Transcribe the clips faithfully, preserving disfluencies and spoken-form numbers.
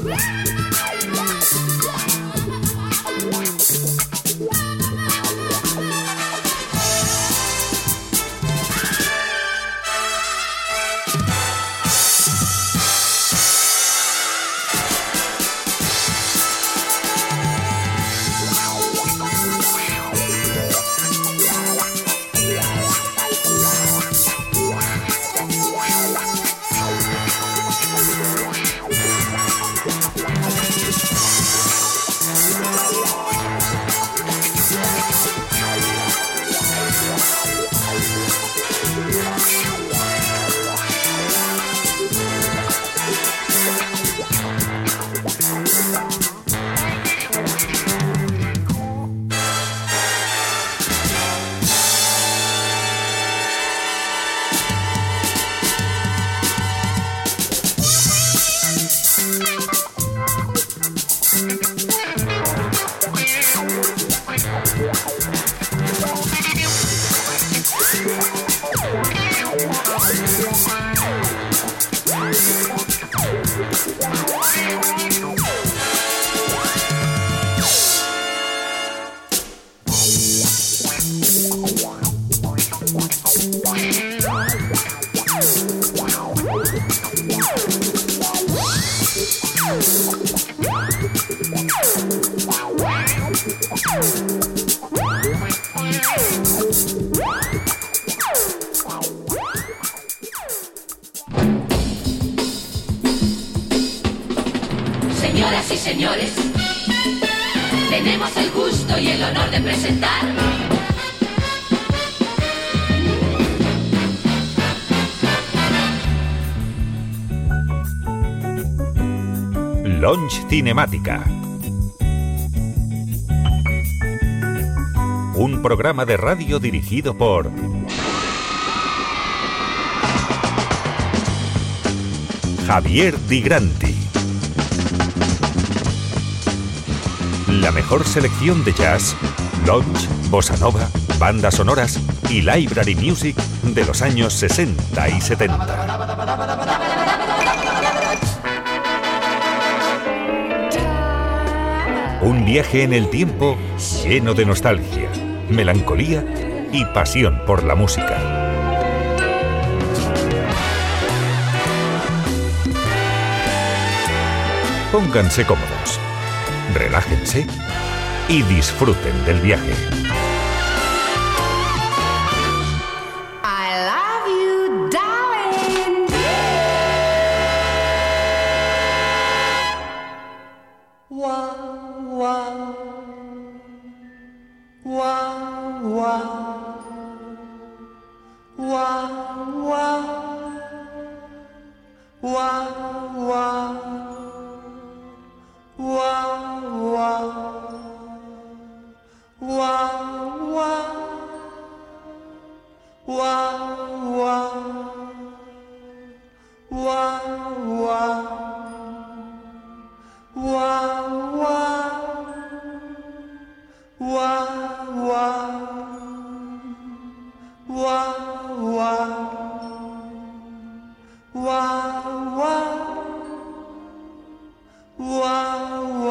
Señoras y señores, tenemos el gusto y el honor de presentar Lounge Cinemática, un programa de radio dirigido por Javier Di Granti. La mejor selección de jazz, lounge, bossa nova, bandas sonoras y library music de los años sesenta y setenta. Un viaje en el tiempo lleno de nostalgia, melancolía y pasión por la música. Pónganse cómodos, relájense y disfruten del viaje. I love you, darling. Wow, wow, wow, wow, wow, wow, wow, wow. Wow, wow, wow, wow, wow, wow, wow, wow, wow, wow, wow, wow, wow. Wow,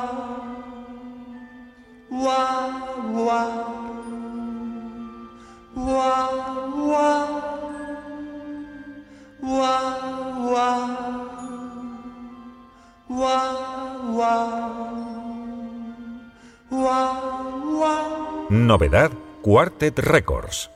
wow, wow, wow, wow, wow, wow, wow, wow, wow, wow. Novedad Quartet Records.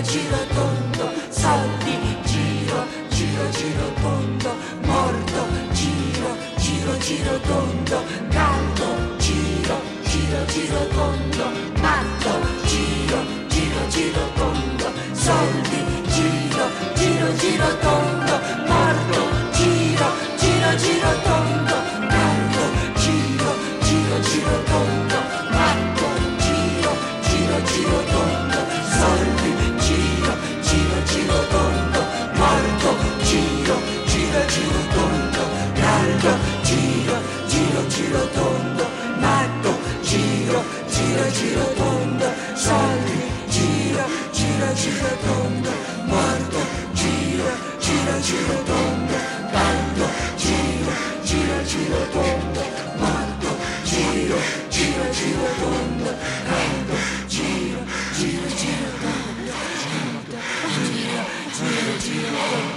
giro giro tondo, soldi, giro giro giro tondo, morto, giro giro giro tondo, caldo, giro giro giro tondo, matto, giro giro giro tondo, soldi, giro giro giro tondo, morto, giro giro giro tondo, caldo, giro giro giro tondo, matto, giro giro giro tondo, soldi, giro giro giro tondo, morto, giro giro giro tondo, caldo, giro giro giro tondo, matto, giro giro giro tondo, soldi, giro giro giro tondo, morto, giro giro giro tondo, caldo, giro giro giro tondo, morto, giro giro giro tondo, caldo, giro giro giro tondo, giro giro giro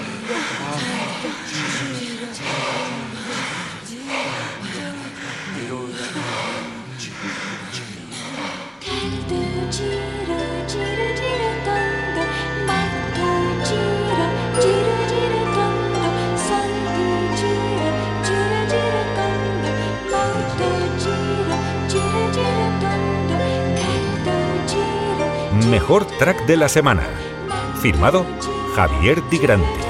caldo, giro giro giro tondo, matto, giro giro giro tondo, soldi, giro giro giro tondo, morto, giro giro giro tondo, caldo, giro. Mejor track de la semana. Firmado Javier Di Grande.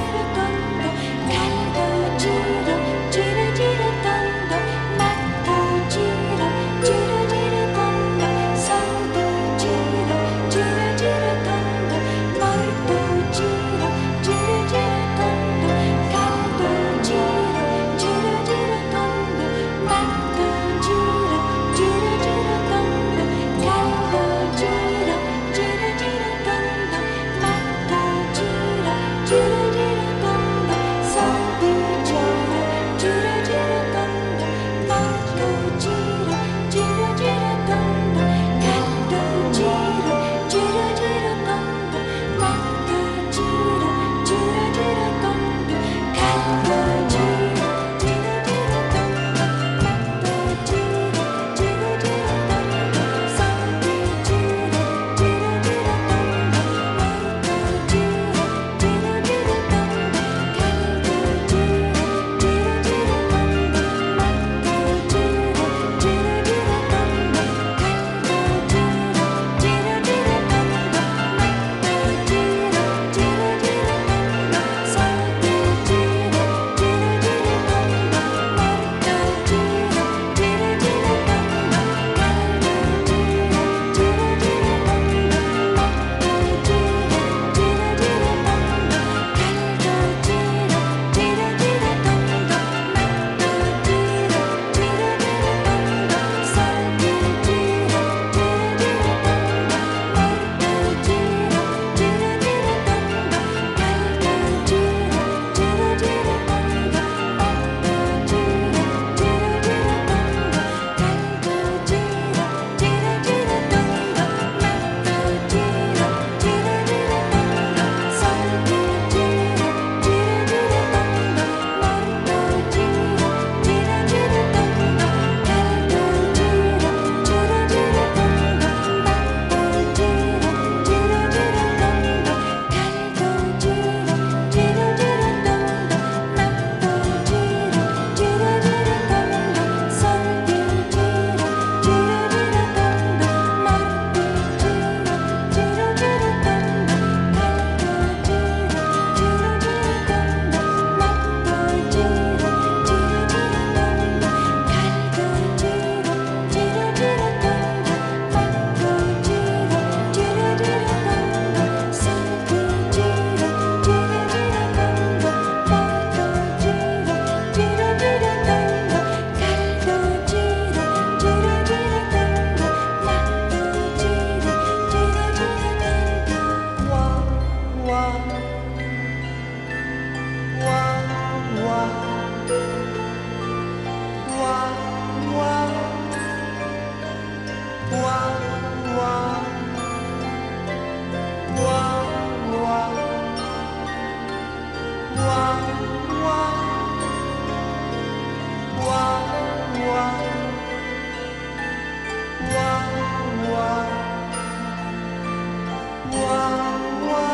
Wow, wow.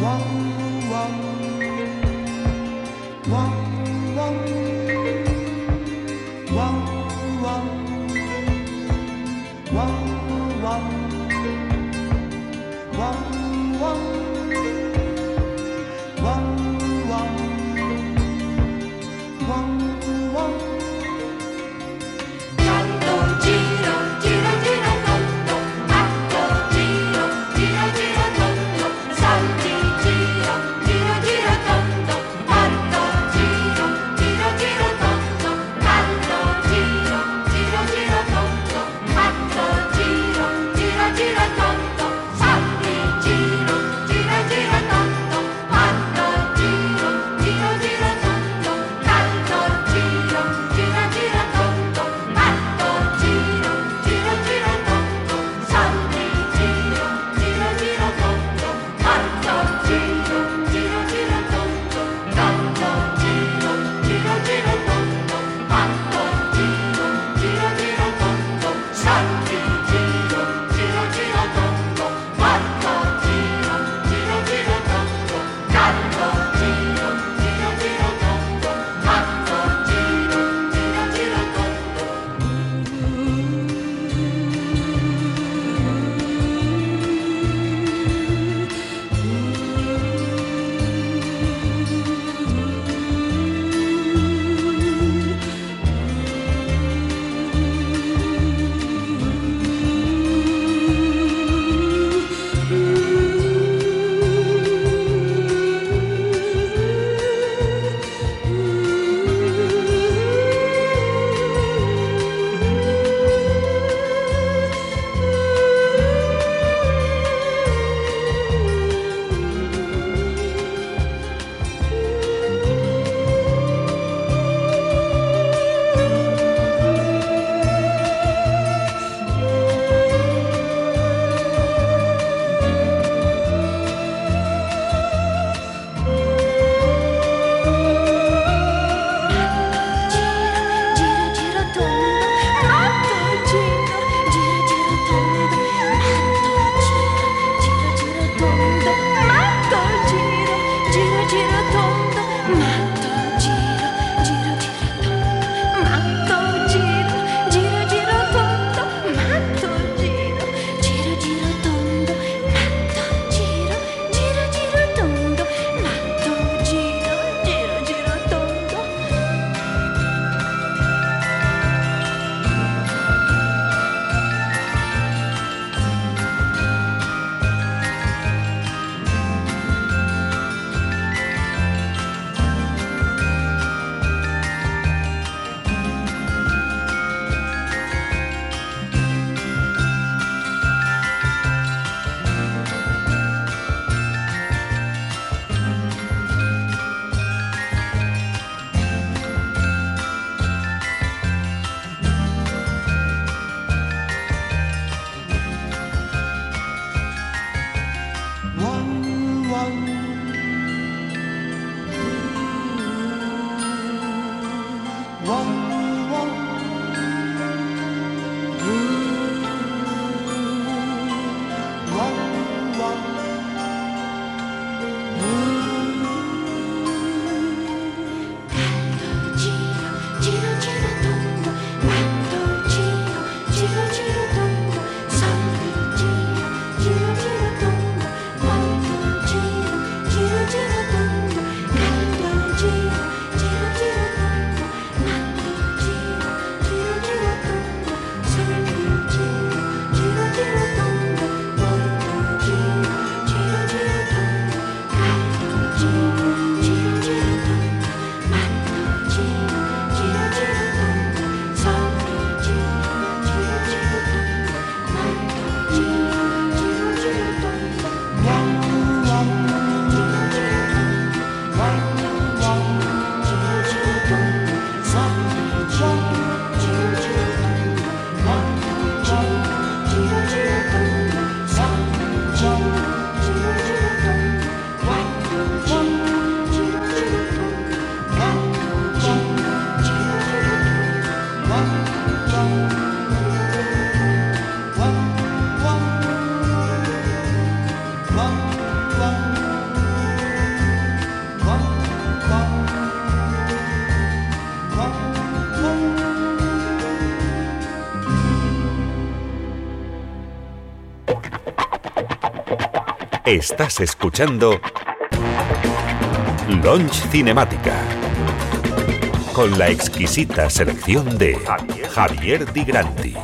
Giro, Estás escuchando Lounge Cinemática, con la exquisita selección de Javier Di Granti.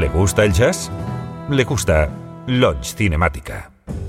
¿Le gusta el jazz? Le gusta Lounge Cinemática.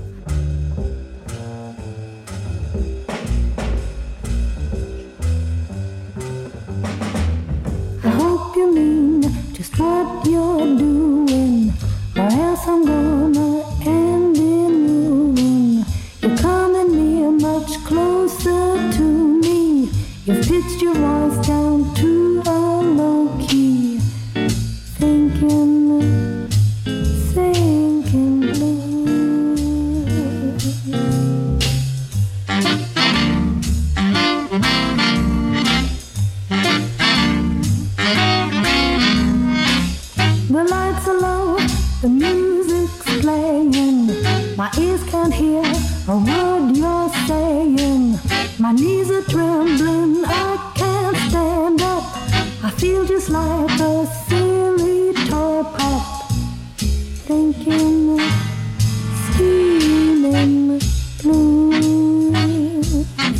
I hope you mean just what you're doing, or else I'm gonna end in ruin. You're coming near much closer to me. You've pitched your voice down to a low key, thinking, thinking blue. The lights are low, the music's playing. My ears can't hear a word you're saying. My knees are trembling, I can't stand up. I feel just like a silly toy pup, thinking, scheming blues.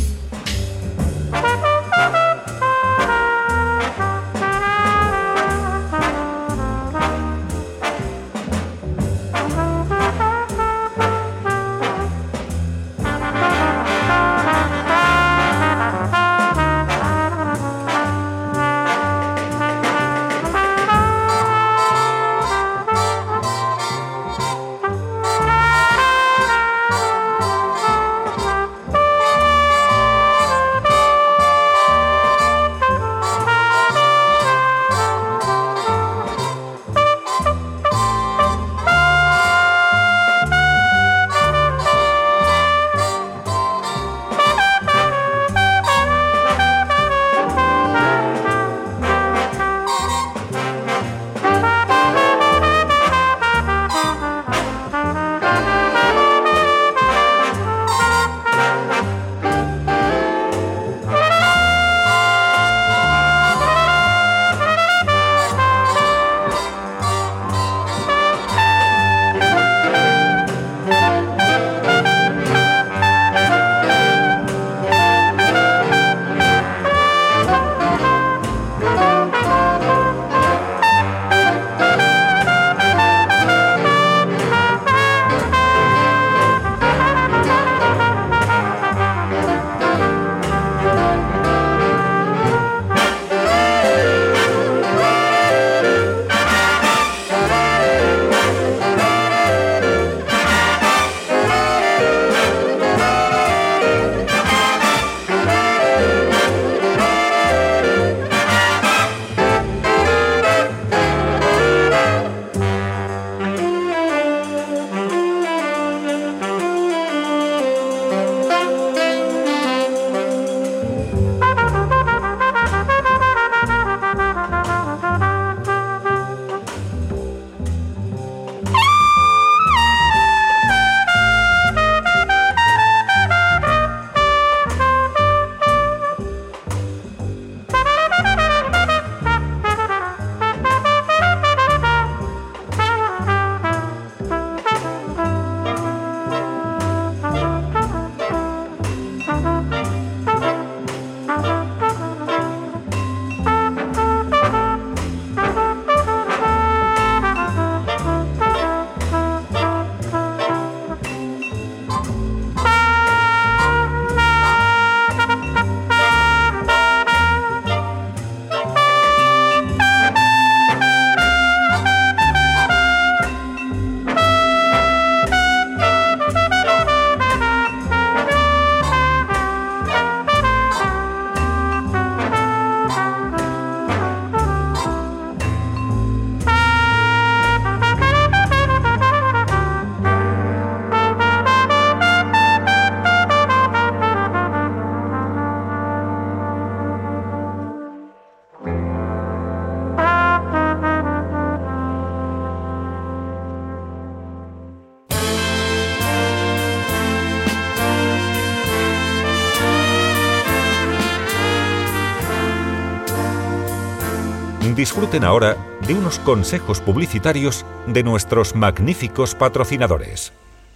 Disfruten ahora de unos consejos publicitarios de nuestros magníficos patrocinadores.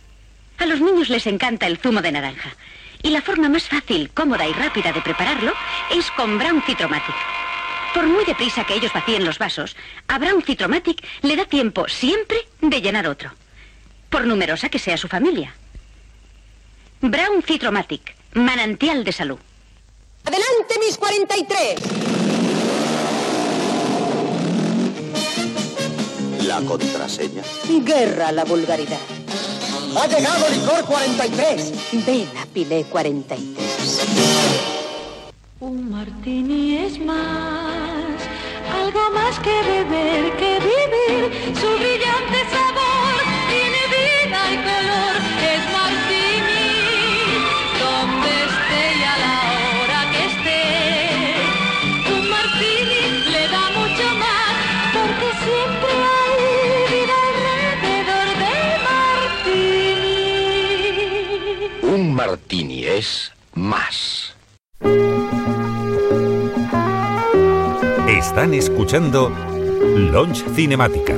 A los niños les encanta el zumo de naranja. Y la forma más fácil, cómoda y rápida de prepararlo es con Brown Citromatic. Por muy deprisa que ellos vacíen los vasos, a Brown Citromatic le da tiempo siempre de llenar otro, por numerosa que sea su familia. Brown Citromatic, manantial de salud. ¡Adelante, mis cuarenta y tres! La contraseña. Guerra a la vulgaridad. ¡Ha llegado licor cuarenta y tres! Ven a Pilé cuarenta y tres. Un martini es más, algo más que beber, que vivir. Su brillante sabor tiene vida y color. Es martini, donde esté y a la hora que esté. Un martini le da mucho más, porque siempre hay vida alrededor del martini. Un martini es más. Están escuchando Lounge Cinemática.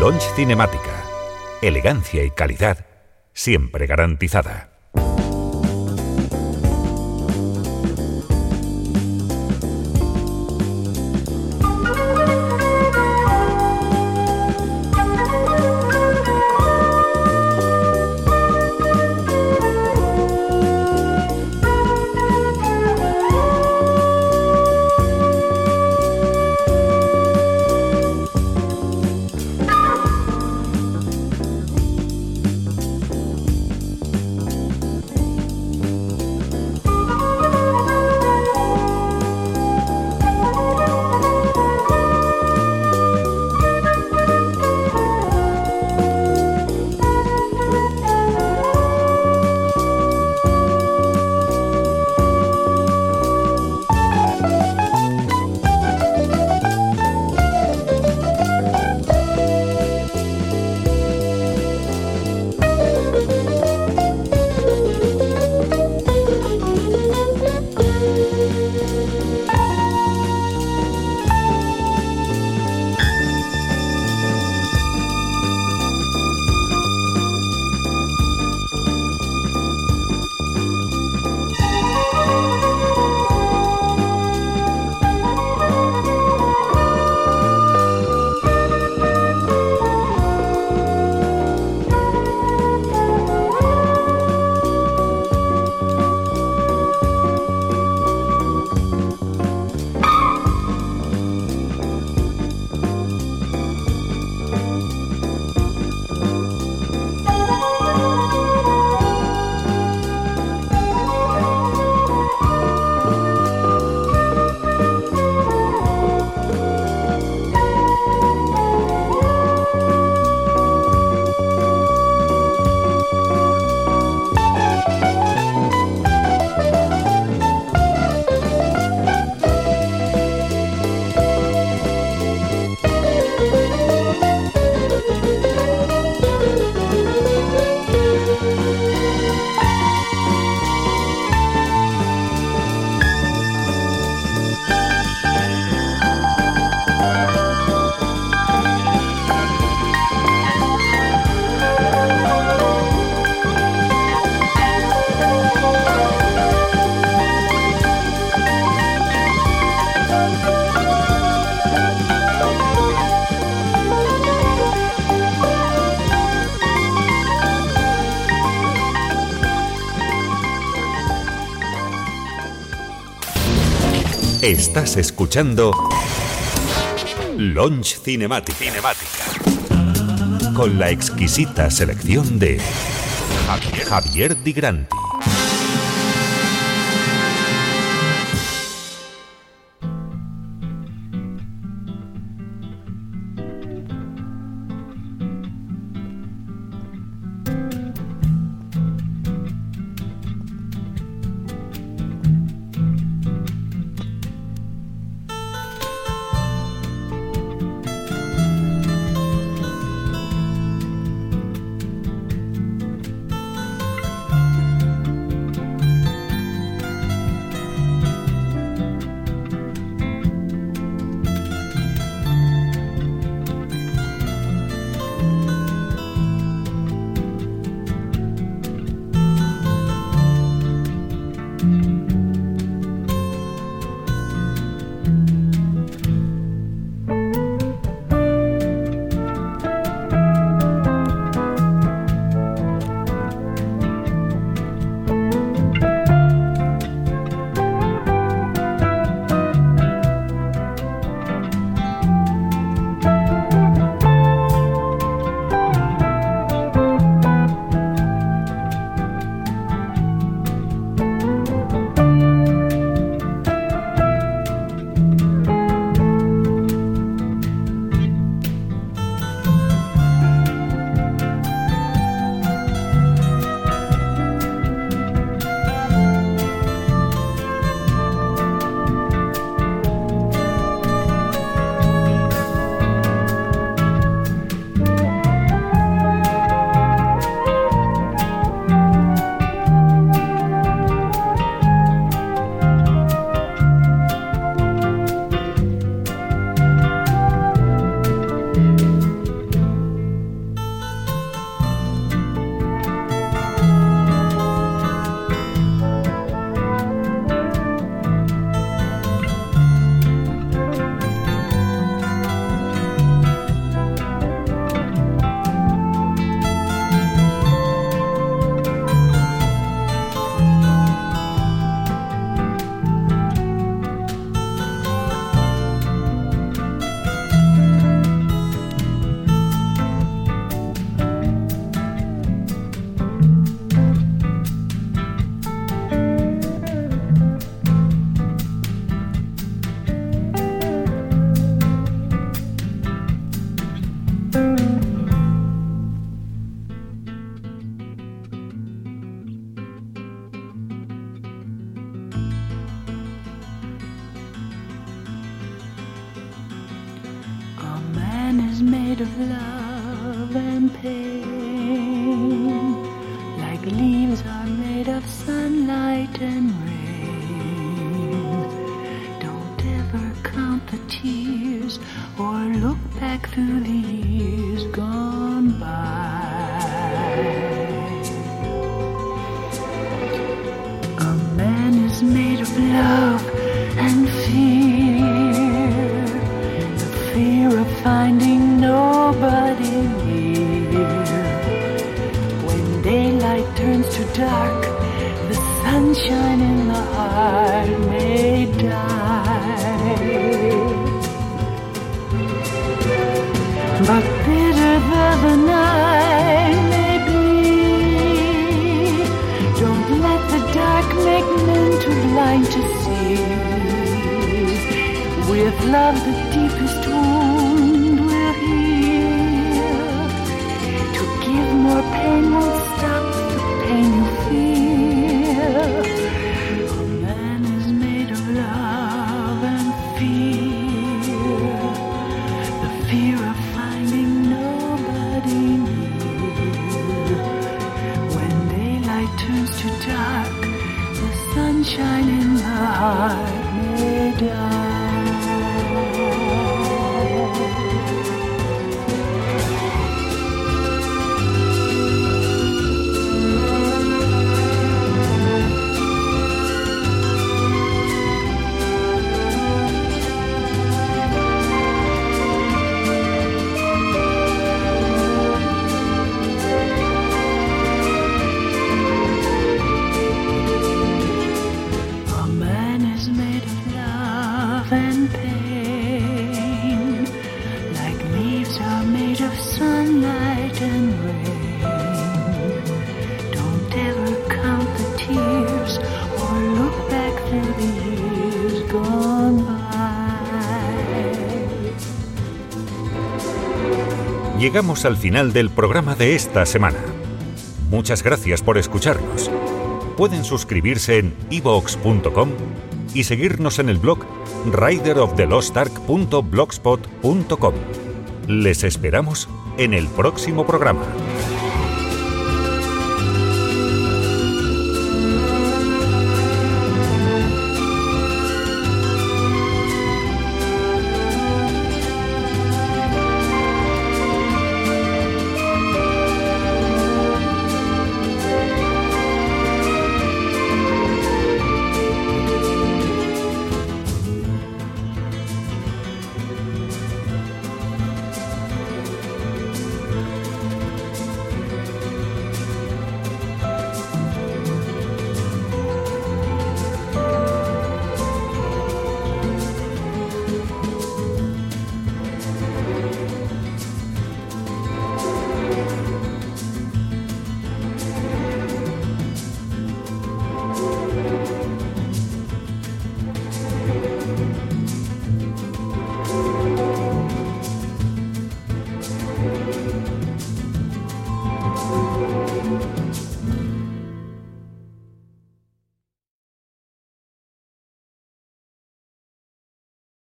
Lounge Cinemática. Elegancia y calidad siempre garantizada. Estás escuchando Lounge Cinemática. Cinemática. Con la exquisita selección de Javier, Javier Di Granti. made of love and pain, like leaves are made of sunlight and rain. Don't ever count the tears or look back through the years gone by. A man is made of love and fear, the fear of finding nobody near. When daylight turns to dark, the sunshine in the heart may die. But bitter though the night may be, don't let the dark make men too blind to see. With love the deepest wound will heal. To give more pain won't stop the pain you feel. A man is made of love and fear, the fear of finding nobody near. When daylight turns to dark, the sunshine in the heart may die. Llegamos al final del programa de esta semana. Muchas gracias por escucharnos. Pueden suscribirse en i vox punto com y seguirnos en el blog rider of the lost ark punto blogspot punto com. Les esperamos en el próximo programa.